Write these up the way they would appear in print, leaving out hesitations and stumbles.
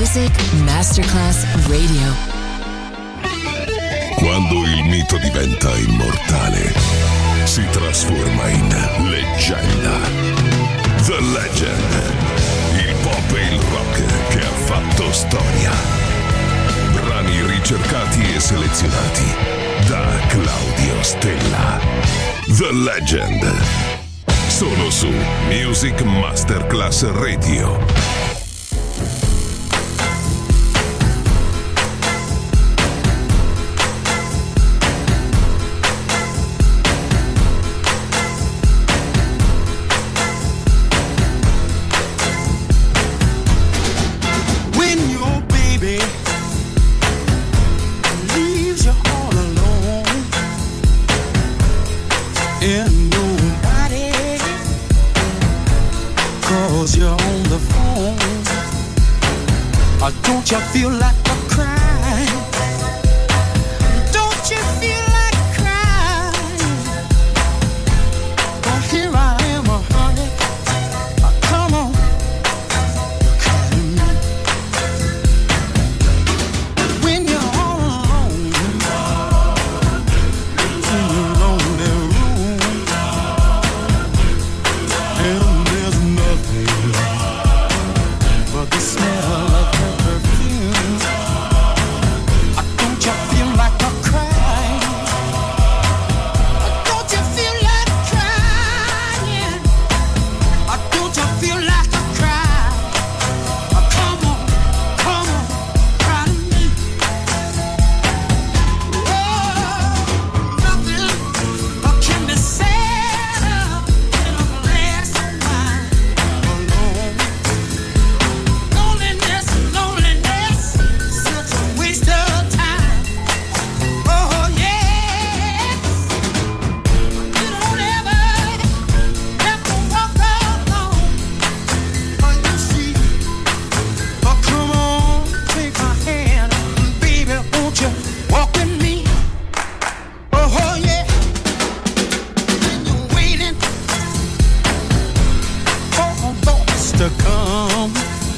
Music Masterclass Radio. Quando il mito diventa immortale, si trasforma in leggenda. The Legend. Il pop e il rock che ha fatto storia. Brani ricercati e selezionati da Claudio Stella. The Legend. Solo su Music Masterclass Radio. Don't you feel like a crying? Don't you feel like crying? Oh, here I am, honey. Come on, you're calling me. When you're all alone in your lonely room, and there's nothing but the smell of her perfume. Don't you feel like a crying? Don't you feel like crying? Don't you feel like a cry? Come on, cry to me. Oh, nothing can be said in a glass of wine alone. Loneliness, such a waste of time. Oh yes, you don't ever have to walk alone. Oh, you see, oh come on, take my hand, baby, won't you walk with me? Oh yeah, when you're waiting for thoughts to come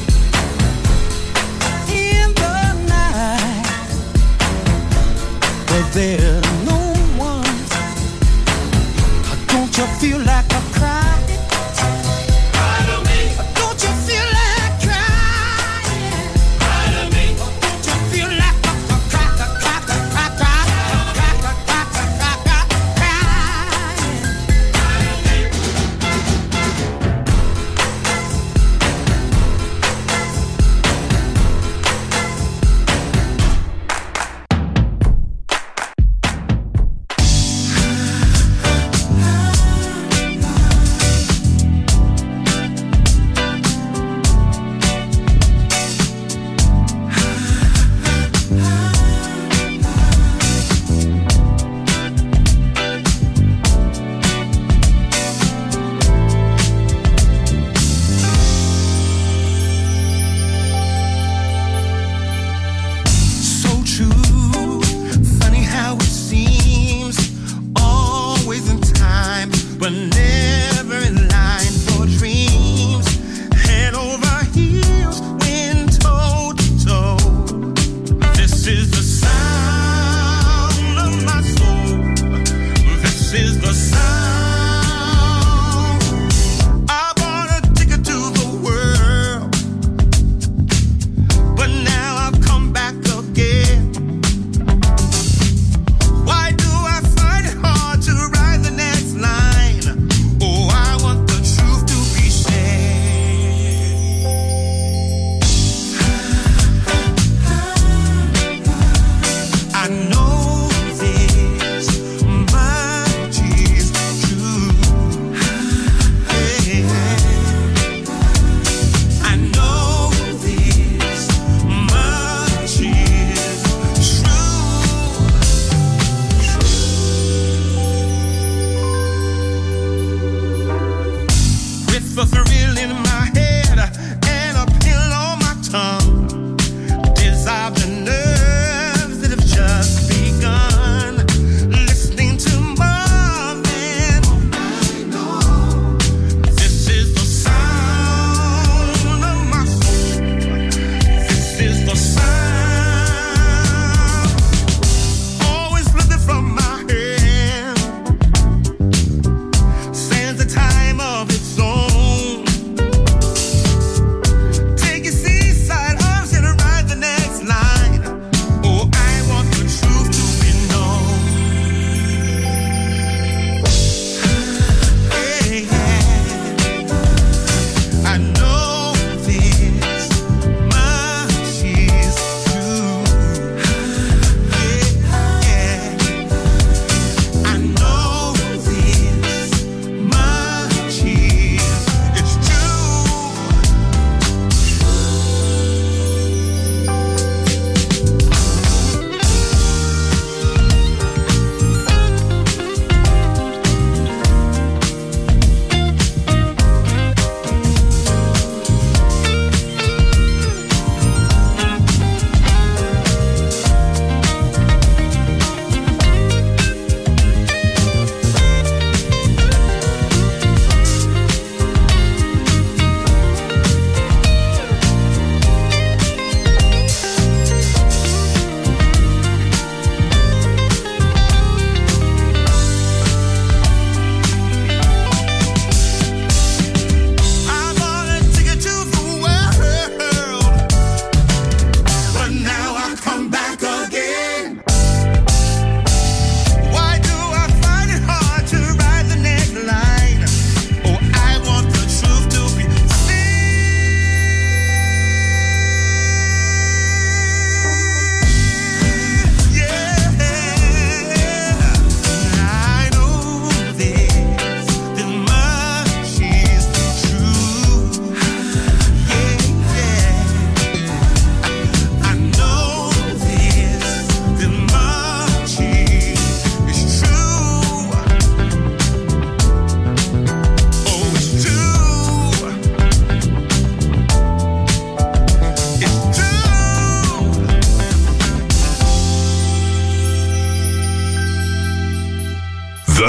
in the night, but there's no one. Don't you feel like a cry? Cry to me. Don't you feel like crying? Cry to me. Don't you feel like a crying?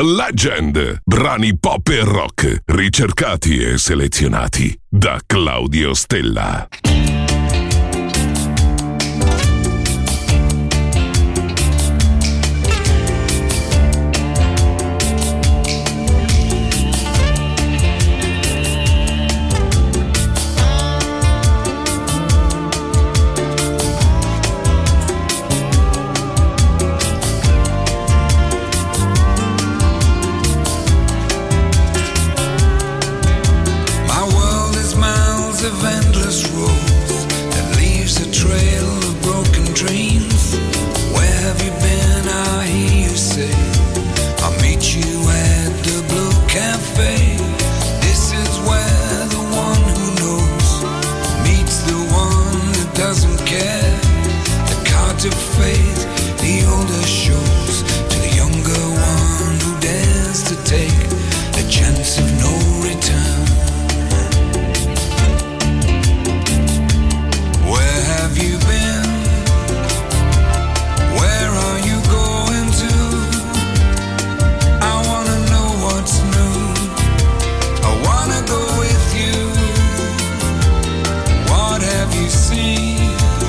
The Legend. Brani pop e rock, ricercati e selezionati da Claudio Stella. Of endless roads that leaves a trail of broken dreams. Where have you been? I hear you say, I'll meet you at the Blue Cafe. This is where the one who knows meets the one that doesn't care. The cards of fate, the older shows to the younger one who dares to take a chance of no return. Have you been? Where are you going to? I wanna know what's new. I wanna go with you. What have you seen?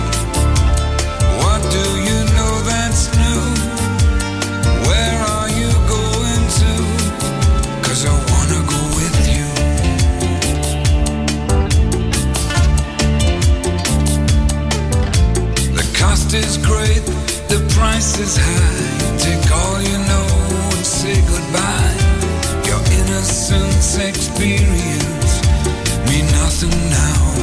What do you know that's new? Where are you going to? 'Cause I wanna go with you. Cost is great, the price is high. Take all you know and say goodbye. Your innocence experience mean nothing now.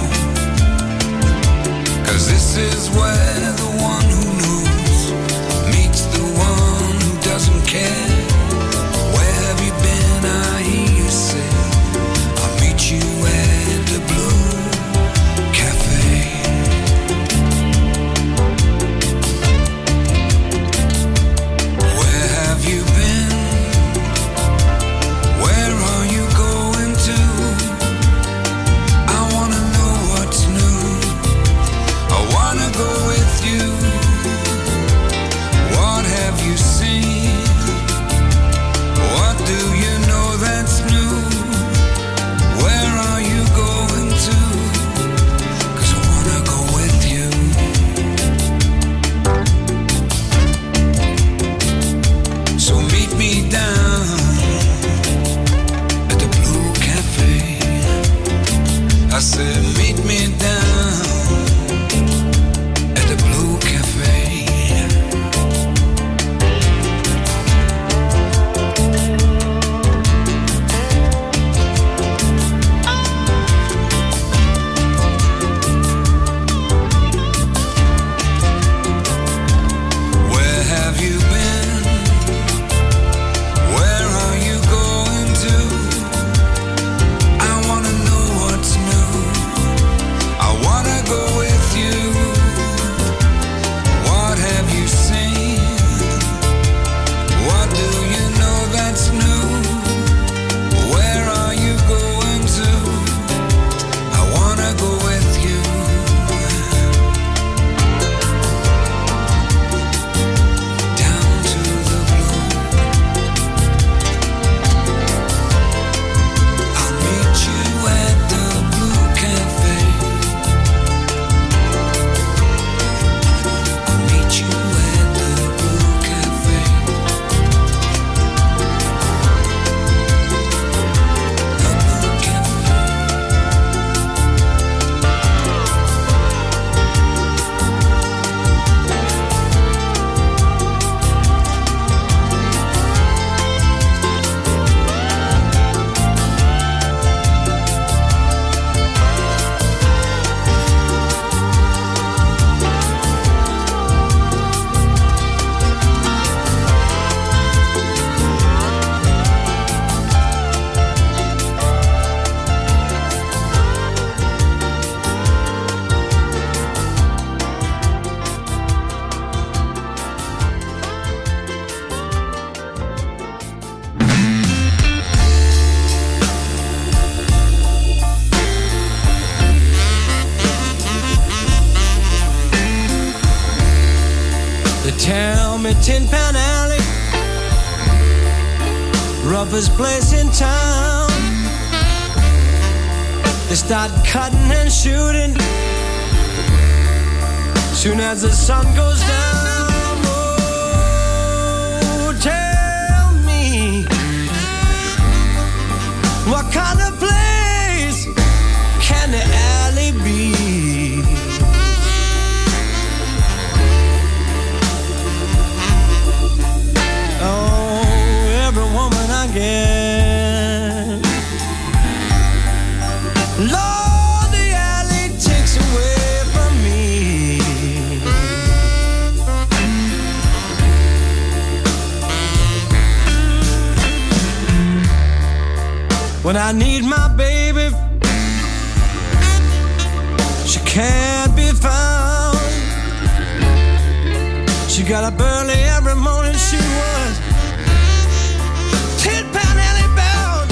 'Cause this is where the one who knows meets the one who doesn't care. Where have you been? I hear you say, I'll meet you at the Blue Cafe. You been? Where are you going to? I wanna know what's new. I wanna go with you. What have you seen? What do you know that's new? Where are you going to? 'Cause I wanna go with you. So meet me down at the Blue Cafe. I said meet me down at the Blue Cafe. Where have you been? Where are you going to? I wanna know what's new. toughest place in town. They start cutting and shooting soon as the sun goes down. Oh, tell me, what kind of place can the alley be? Oh, every woman I get, Lord, the alley takes away from me. When I need my baby, she can't be found. She got up early every morning, she was 10-pound alley bound.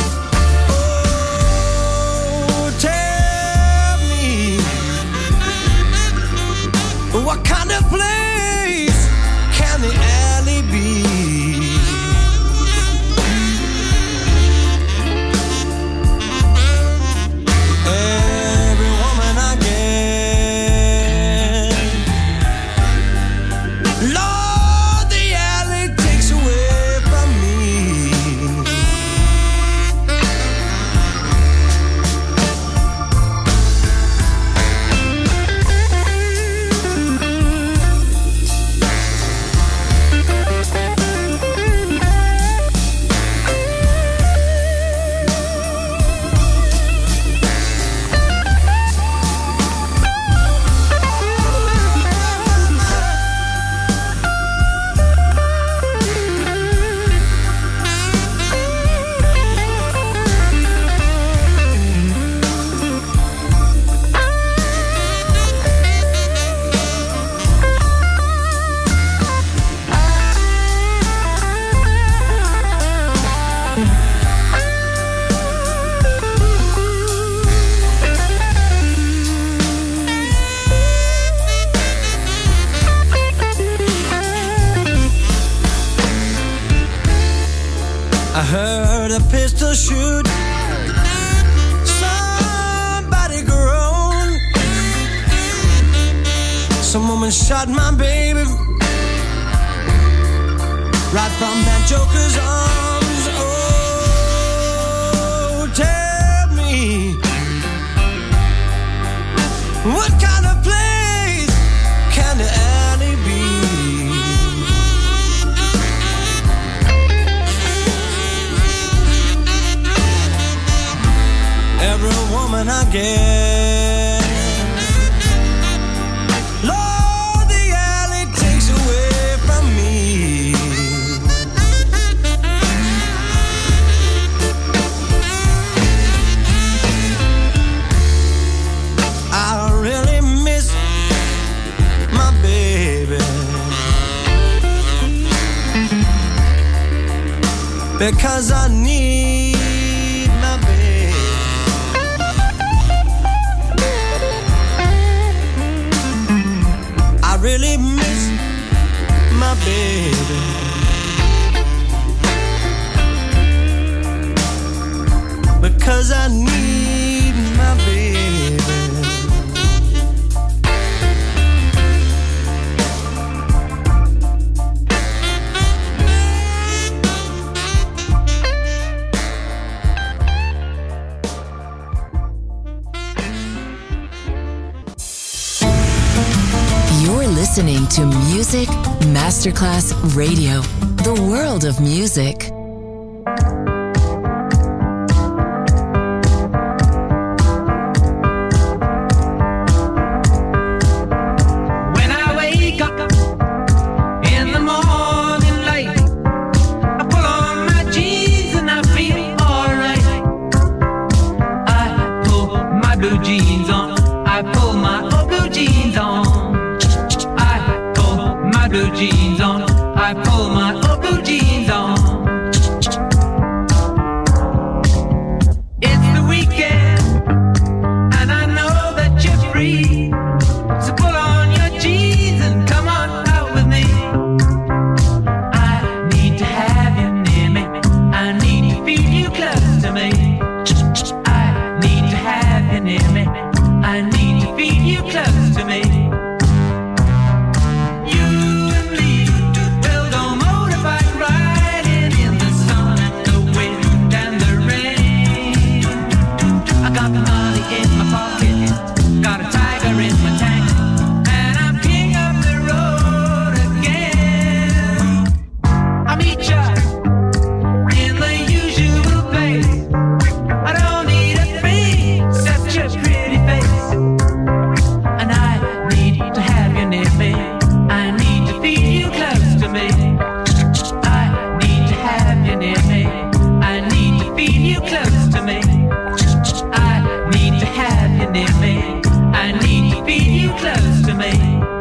Oh, tell me, what kind of place can the alley be? Every woman I get, Lord, the alley takes away from me. I heard a pistol shoot, somebody groan. Some woman shot my baby right from that joker's arms. Oh, tell me, what kind of place can the alley be? Every woman I get, Lord, the alley takes away from me. I really miss my baby, because I need my baby. I really miss my baby, because I need my baby. You're listening to Music Masterclass Radio, the world of music. When I wake up in the morning light, I pull on my jeans and I feel alright. I pull my blue jeans on, I pull my old blue jeans on. I pull my blue jeans on, I pull my old blue jeans on. It's the weekend and I know that you're free, so pull on your jeans and come on out with me. I need to have you near me, I need to feel I need to feel you close to me. You and me will go motorbike riding in the sun and the wind and the rain. I got the money in my pocket, got a tiger in my tank, and I'm king of the road again. I meet ya in the usual place. I don't need a thing except your pretty face. And I need to have you near me. I need to feel you close to me. I need to have you near me. I need to feel you close to me. I need to have you near me. I need to feel you close to me.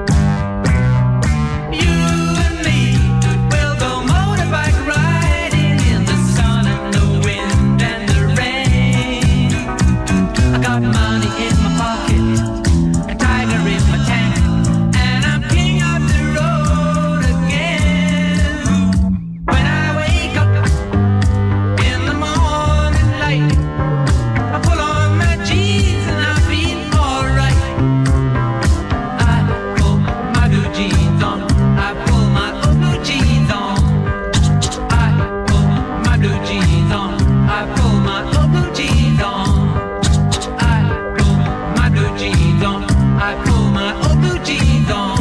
You and me will go motorbike riding in the sun and the wind and the rain. I got money in my pocket, a tiger in my tank, and I'm king of the road again. When I wake up in the morning light, I pull on my jeans and I feel alright. I pull my blue jeans on, I pull my old blue jeans on. I pull my blue jeans on, I pull my old blue jeans on. I pull my blue jeans on, I pull my old blue jeans on.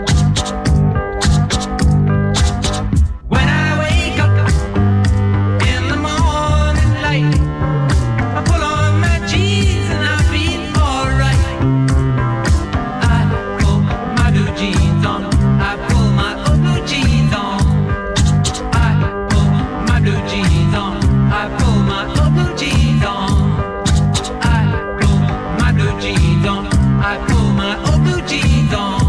When I wake up in the morning light, I pull on my jeans and I feel alright. I pull my blue jeans on, I pull my old blue jeans on. I pull my blue jeans on, I pull my old blue jeans on. I pull my blue jeans on, I pull my old blue jeans on.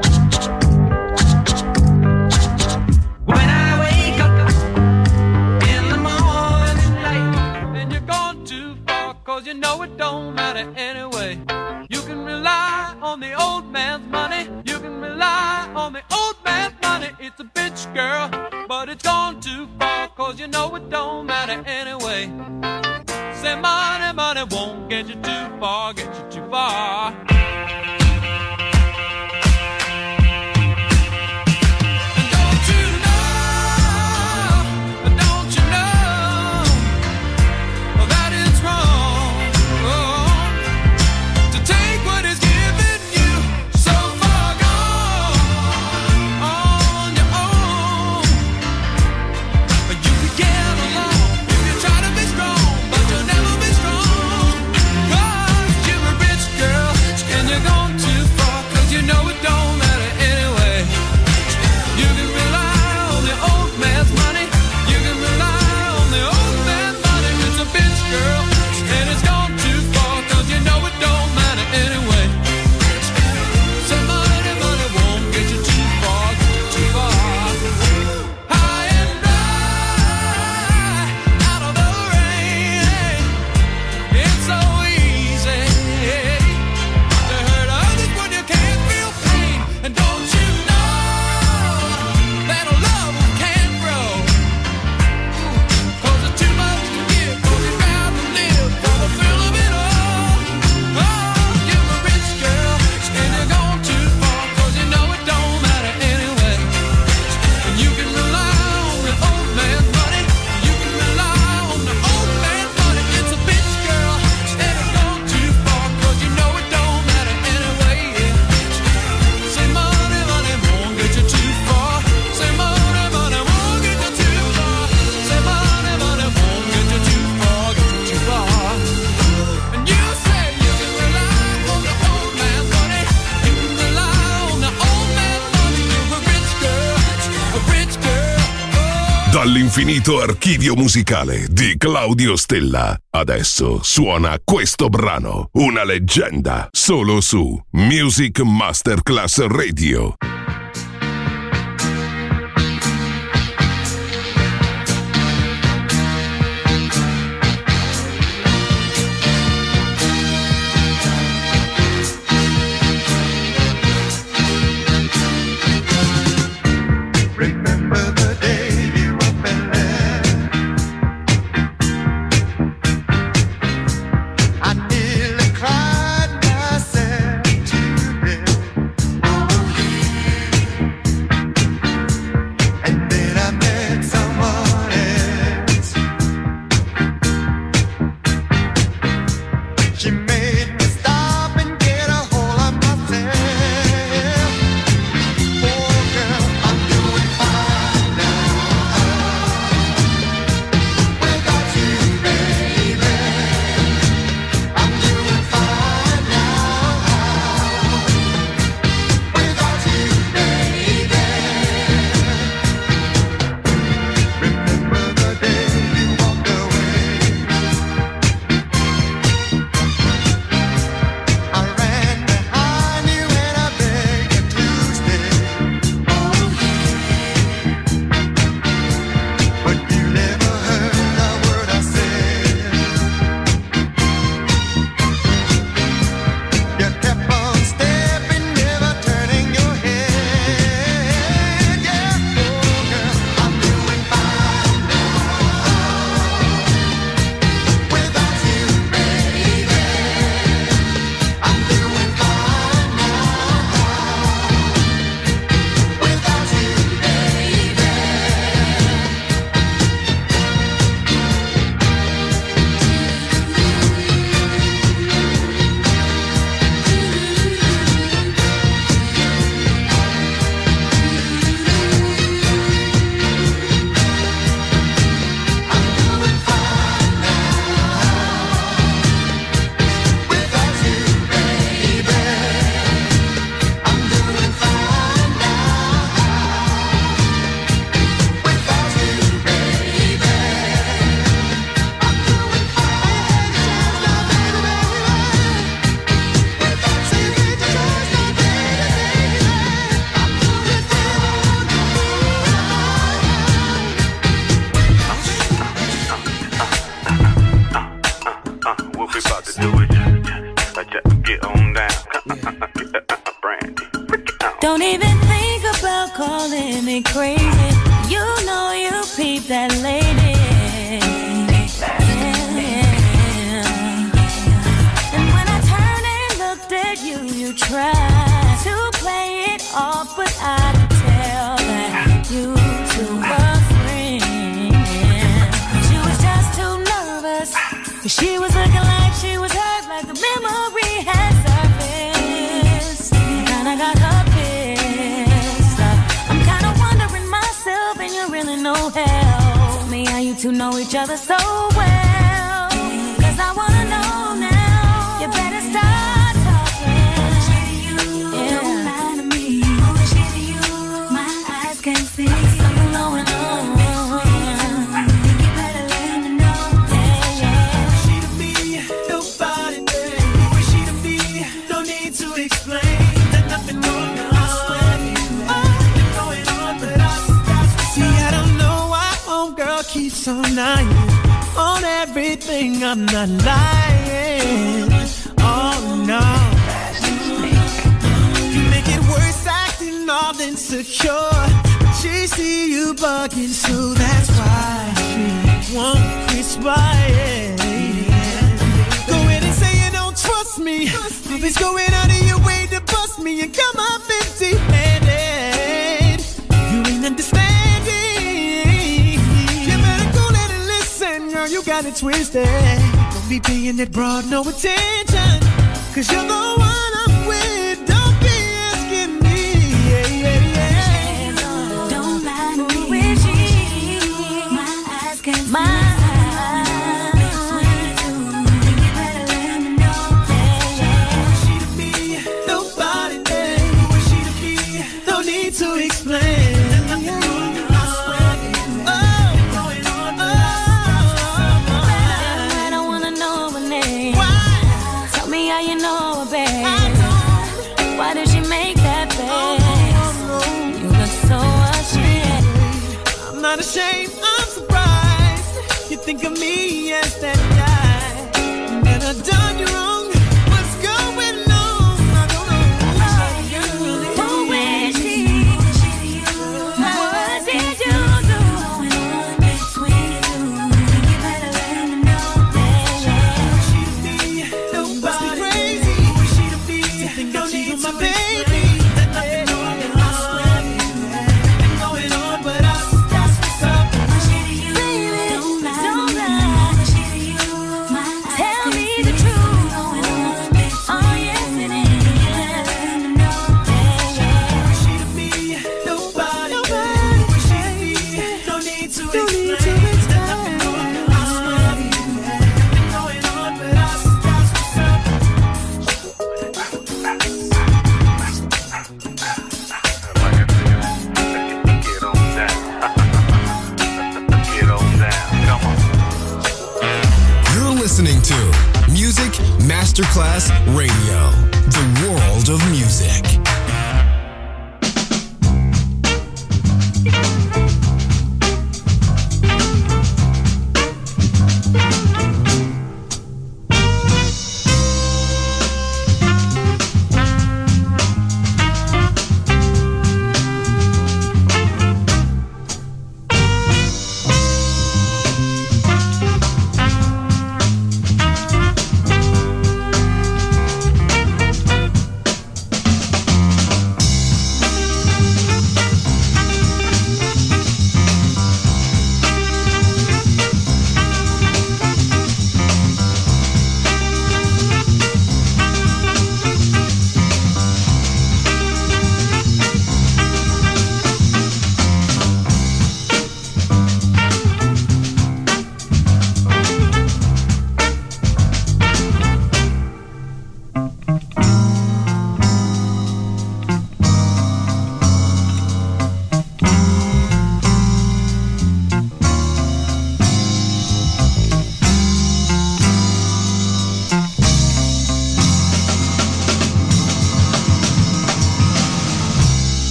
When I wake up in the morning light, And you're gone too far, cause you know it don't matter anyway. You can rely on the old man's money. You can rely on the old man's money. It's a bitch, girl, but it's gone too far, cause you know it don't matter anyway. Say money, money won't get you too far, get you too far. And don't you know that it's wrong to take what is given you so far gone on your own. But you can get along if you try to be strong, but you'll never be strong. 'Cause you're a rich girl and you're gone too far, 'cause you know it don't matter anyway. You can rely on the old man's money. You can rely on the old man's money. It's a bitch, girl, and it's gone too far, 'cause you know it don't matter anyway. Say money, money won't get you too far, get you too far. High and dry, out of the rain. It's so easy to hurt others when you can't feel pain. And don't you know that a love can't grow? 'Cause it's too much to give, 'cause you gotta live for the thrill of it all. Oh, you're a rich girl and you're gone too far, 'cause you know it don't matter anyway. And you can rely on the old man's money. You can rely on the old man's money. It's a bitch, girl, and it's gone too far, 'cause you know it don't matter anyway. Yeah. Say money, money won't get you too far. Say money, money won't get you too far. Say money, money won't get you too far, get you too far. And you say you can rely on the old man's money. You can rely on the old man's money. You're a rich girl, a rich girl. Oh. Dall'infinito archivio musicale di Claudio Stella. Adesso suona questo brano, una leggenda, solo su Music Masterclass Radio. Remember the day you were feeling. I nearly cried myself. on down. Brandy, break it down. Don't even think about calling me crazy. You know you peep that lady. Yeah. And when I turned and looked at you, you tried to play it off, but I could tell that you two were friends. She was just too nervous. She was looking like she was hurt, like the memory had surfaced. Kinda got her pissed. I'm kinda wondering myself, and you really know help me how you two know each other so well. 'Cause I wanna know now. You better start talking. Yeah. Don't lie to me. Bullshit to you. My eyes can't see. Something going on. Think you better let me know. Yeah, yeah. She to me, nobody there. Who is she to me? No need to explain. There's nothing wrong with nothing going on, but see, I don't know why homegirl keeps on lying on everything. I'm not lying. Oh no. You make it worse, acting all insecure. She see you bugging, so that's why she won't quit Go ahead and say you don't trust me. Always going out of your way to bust me and come up empty-handed. You ain't understanding. You better go let it listen, girl. You got it twisted. Don't be paying that broad no attention. 'Cause you're the one I'm with. Don't be asking me. Don't lie to me. Where's she? My eyes can't see. My eyes. Think you better let me know. Yeah, yeah. She to me, nobody there. Who is she to me? No need to explain. I don't wanna know her name. Tell me how you know her, babe. Why did she make that face? You look so ashamed. I'm not ashamed, I'm surprised. You think of me as that guy. And I've done you wrong. What's going on? I don't know. Who is she? What did you do? You better let me know. Yeah, yeah. She to me, nobody crazy. Who is she to me? No need to my baby. There's nothing wrong with us. Nothing going on, but us. That's what's up. Baby, don't lie. Tell me the truth. Oh, yes, it is. She to me, nobody. Who is she to me? No need to explain. There's nothing wrong with us. Nothing going on, but us. That's what's up. Get on down. Get on down. Come on. You're listening to Music Masterclass Radio, the world of music.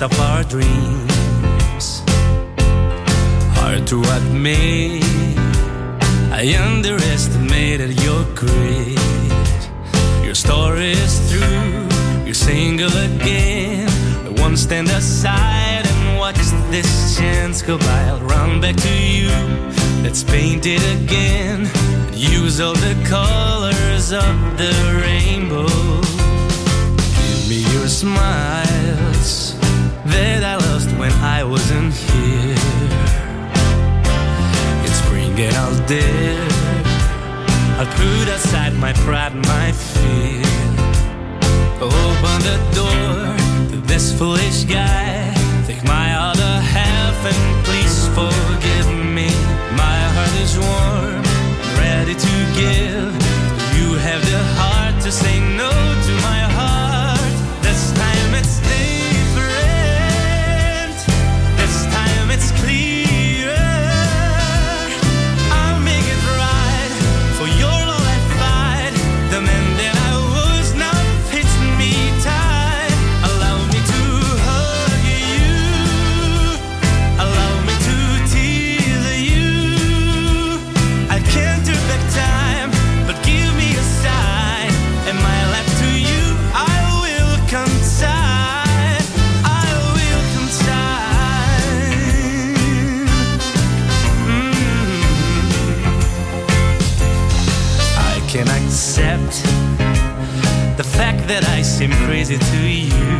last of our dreams. Hard to admit, I underestimated your grit. Your story is through, you're single again. I won't stand aside and watch this chance go by. I'll run back to you, let's paint it again. Use all the colors of the rainbow. Give me your smiles that I lost when I wasn't here. It's spring and I'll dare, I'll put aside my pride and my fear. Open the door to this foolish guy. Take my other half and please forgive me. My heart is warm, ready to give. You have the heart to say no to my heart. This time it's different. This time it's clearer. I'll make it right. For your love I fight. The man that I was now fits me tight. Allow me to hug you. Allow me to tease you. I can't turn back time, but give me a sign. And my life to you I will consign. I will consign. I can accept the fact that I seem crazy to you.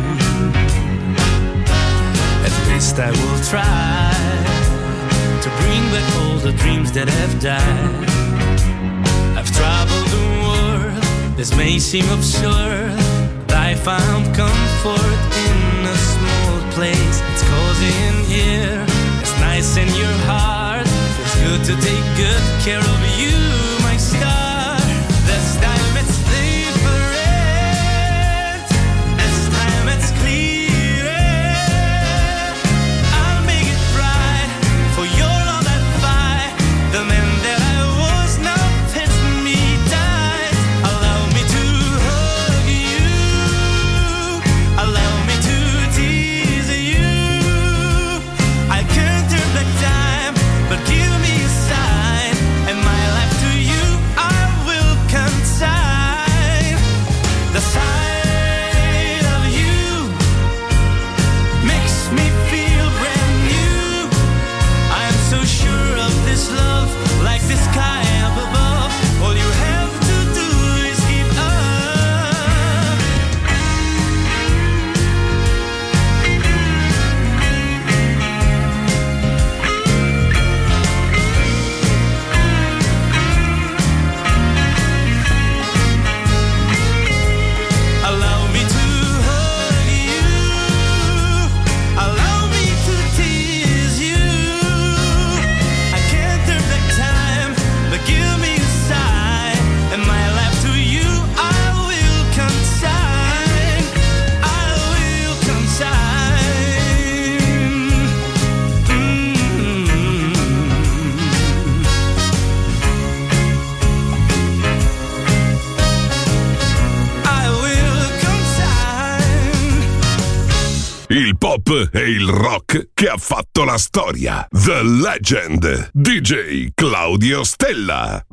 At least I will try to bring back all the dreams that have died. I've traveled the world, this may seem absurd, but I found comfort in a small place. It's cozy in here, it's nice in your heart. Feels good to take good care of you, my star. This time it's different. This time it's clearer. I'll make it right. For your love I fight. The man that I was now fits me tight. Allow me to hug you. Allow me to tease you. I can't turn back time, but give me a sign. And my life to you I will consign. The sight of you makes me feel brand new. I am so sure of this love, like the sky up above. All you have to do is give up. Allow me to hug you. Allow me to tease you. I can't turn back time, but give me a sign. And my life to you I will consign. I will consign. I will consign. Il pop e il rock che ha fatto la storia. The Legend. DJ Claudio Stella.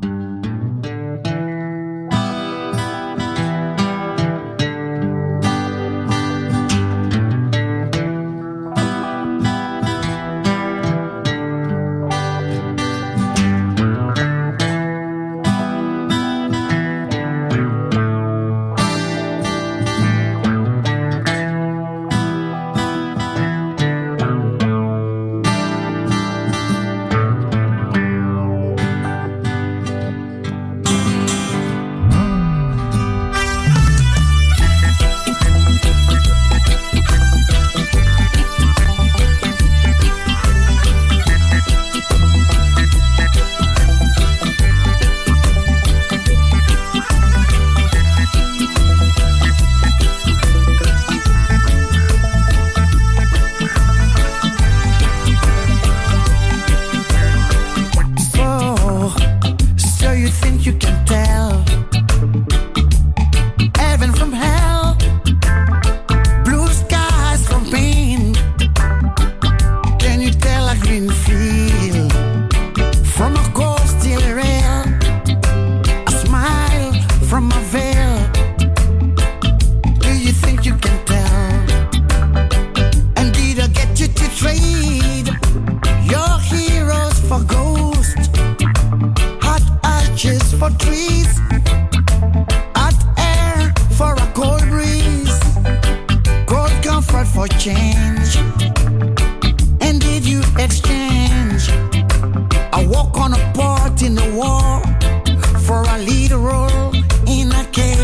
trees, hot air for a cold breeze, cold comfort for change. And did you exchange a walk on a part in the war for a lead role in a cage?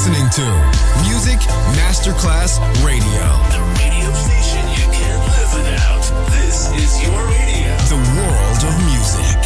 listening to Music Masterclass Radio. The radio station you can't live without. This is your radio. The world of music.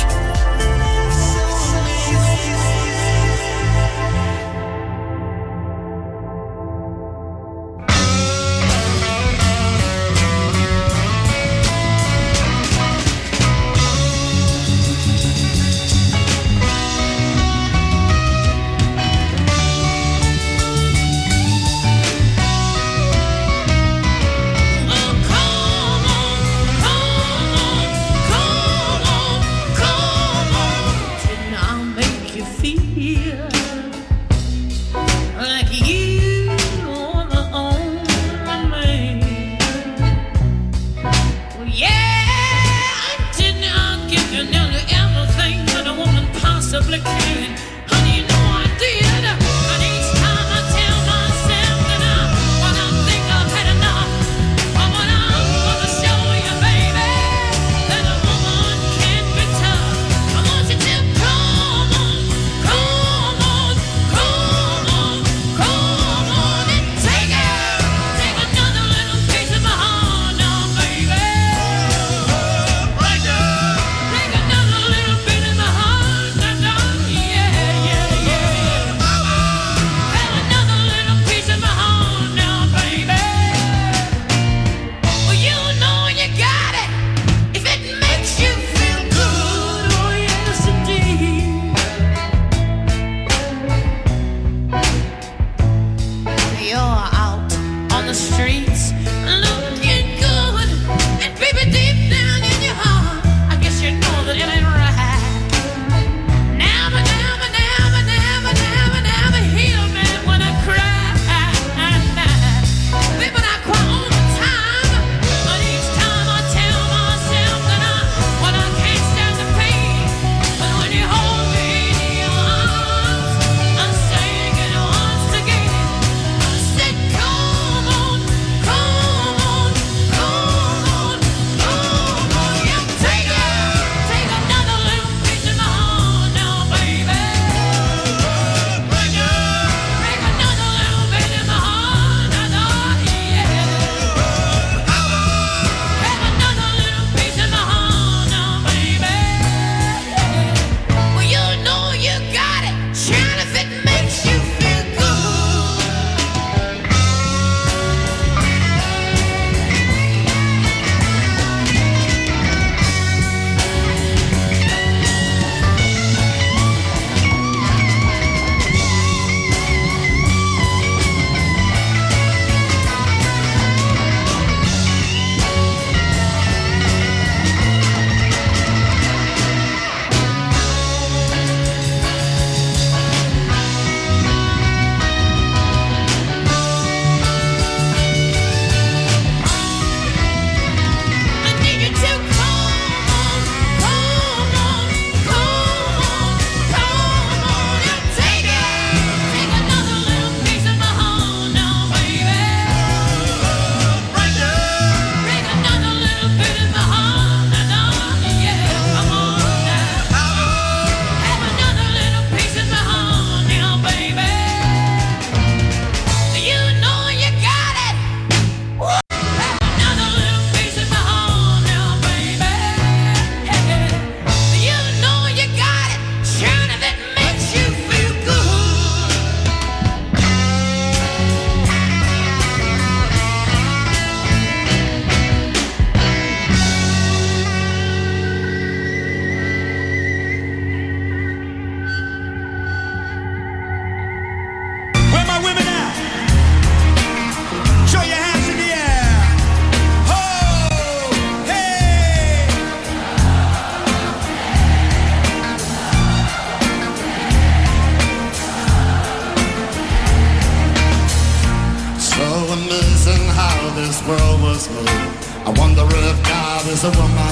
I wonder if God is a woman.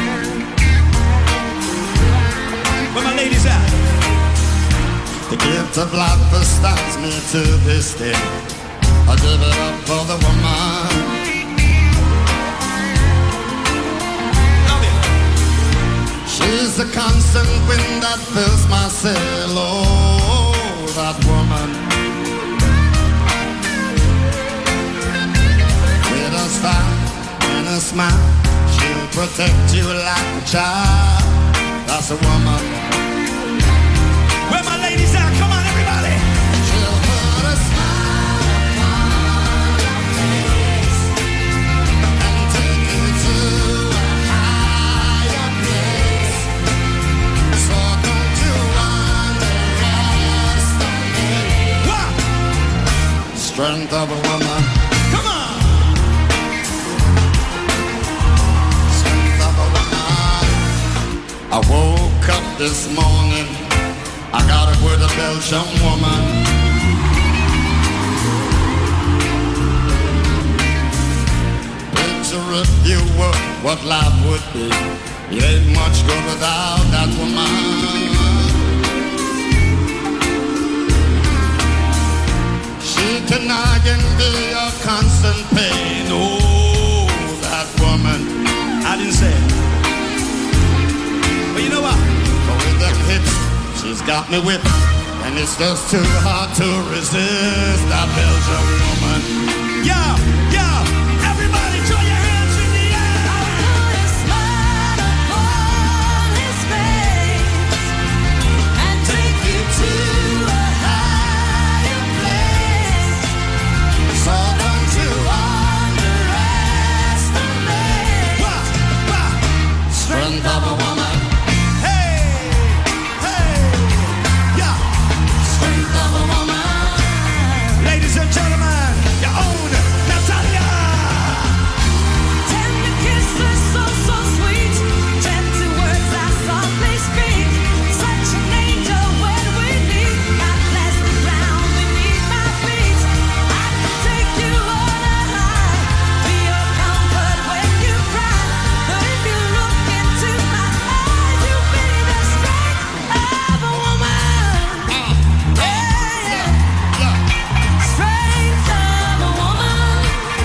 Where my ladies at? The gift of life astounds me to this day. I give it up for the woman. She's the constant wind that fills my sail. Oh, that woman. a smile, she'll protect you like a child. That's a woman. Where my ladies at? Come on, everybody. She'll put a smile upon your face and take you to a higher place. So don't you underestimate the strength of a woman. Come on. I woke up this morning, I got up with a Belgian woman. Picture if you were what life would be. It ain't much good without that woman. She can be a constant pain. Oh, that woman. I didn't say it. But you know what? But with them hips, she's got me whipped. And it's just too hard to resist that Belgian woman. Yeah, yeah. Everybody throw your hands in the air. I put a smile upon his face and take you to a higher place. So don't you underestimate strength of a woman. Ladies and gentlemen, your own Natalia. Tender kisses so sweet, gentle words I softly speak. Such an angel when we meet. God bless the ground beneath my feet. I can take you on a high, be your comfort when you cry. But if you look into my eyes, you'll be the strength of a woman. Strength of a woman.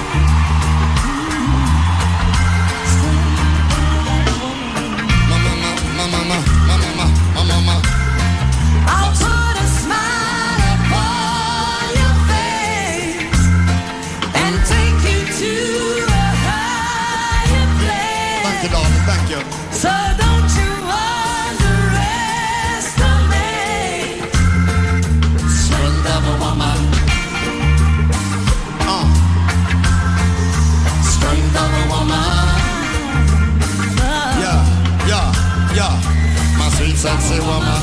I'll put a smile upon your face and take you to a higher place. Thank you, darling. Thank you. So don't you underestimate Strength of a woman. Strength of a woman. Yeah, yeah, yeah. My sweet, sexy woman.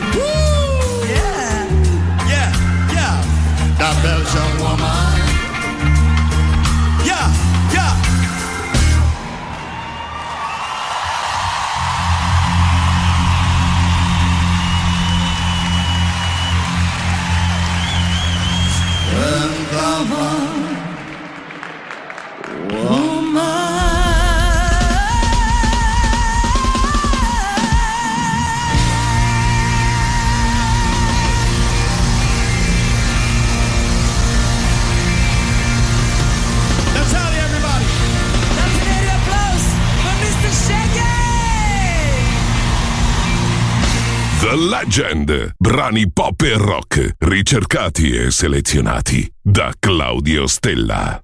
Yeah. Yeah, yeah, That Belgian woman. yeah, yeah. Strength of a Natalia, everybody. That's an applause for Mr. Shaggy. The Legend. Brani pop e rock, ricercati e selezionati da Claudio Stella.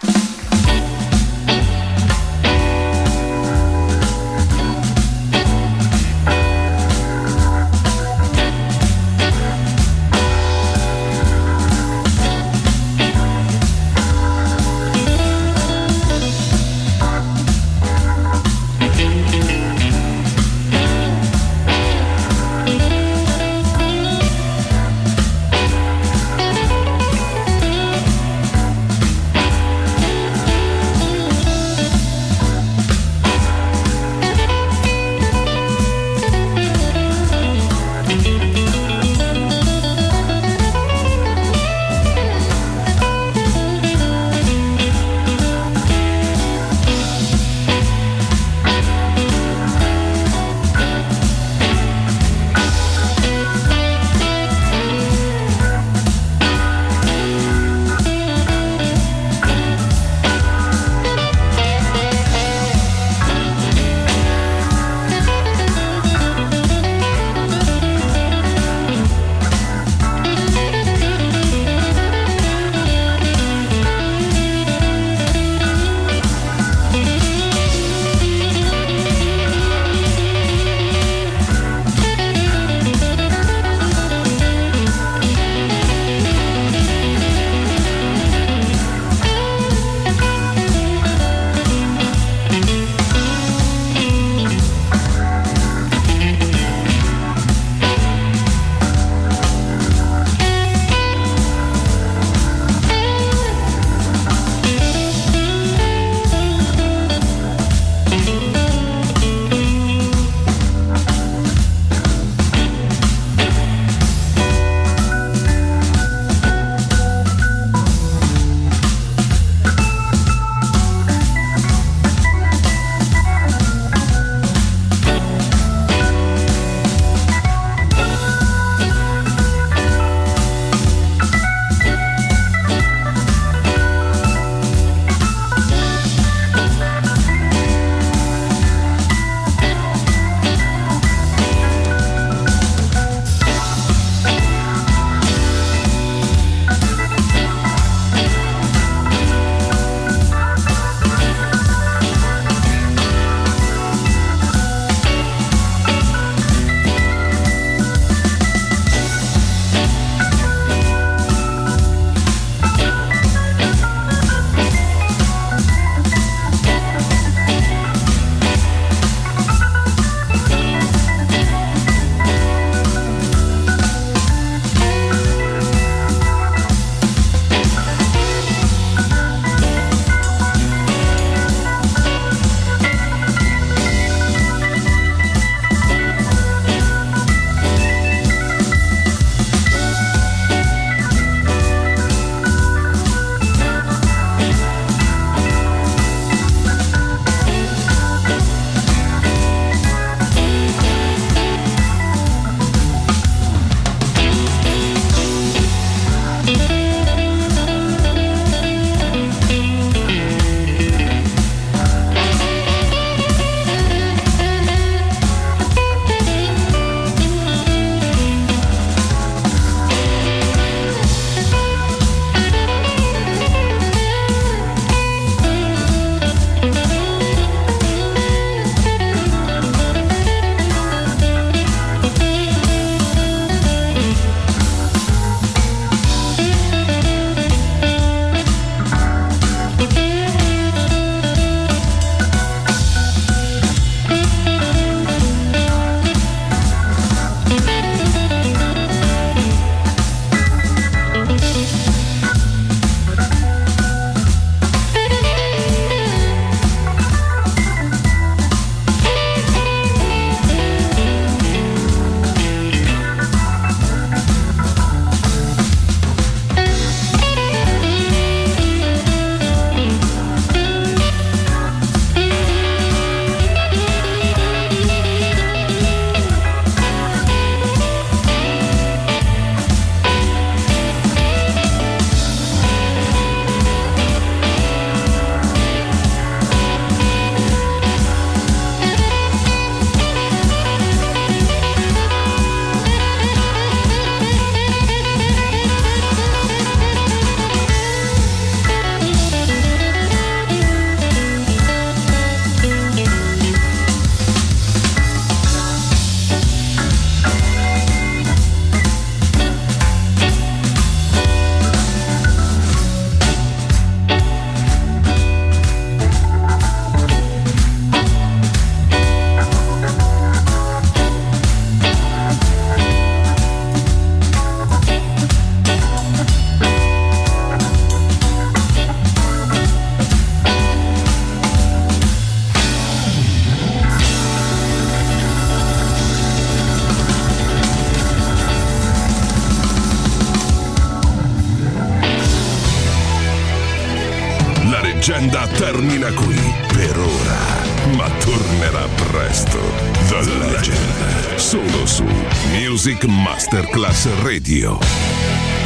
leggenda termina qui per ora, ma tornerà presto. The Legend, solo su Music Masterclass Radio.